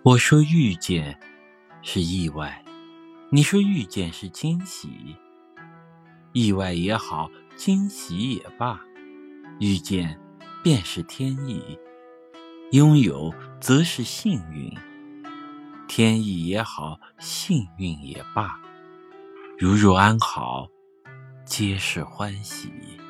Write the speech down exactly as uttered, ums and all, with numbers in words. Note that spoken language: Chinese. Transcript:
我说遇见是意外，你说遇见是惊喜。意外也好，惊喜也罢，遇见便是天意，拥有则是幸运。天意也好，幸运也罢，如若安好，皆是欢喜。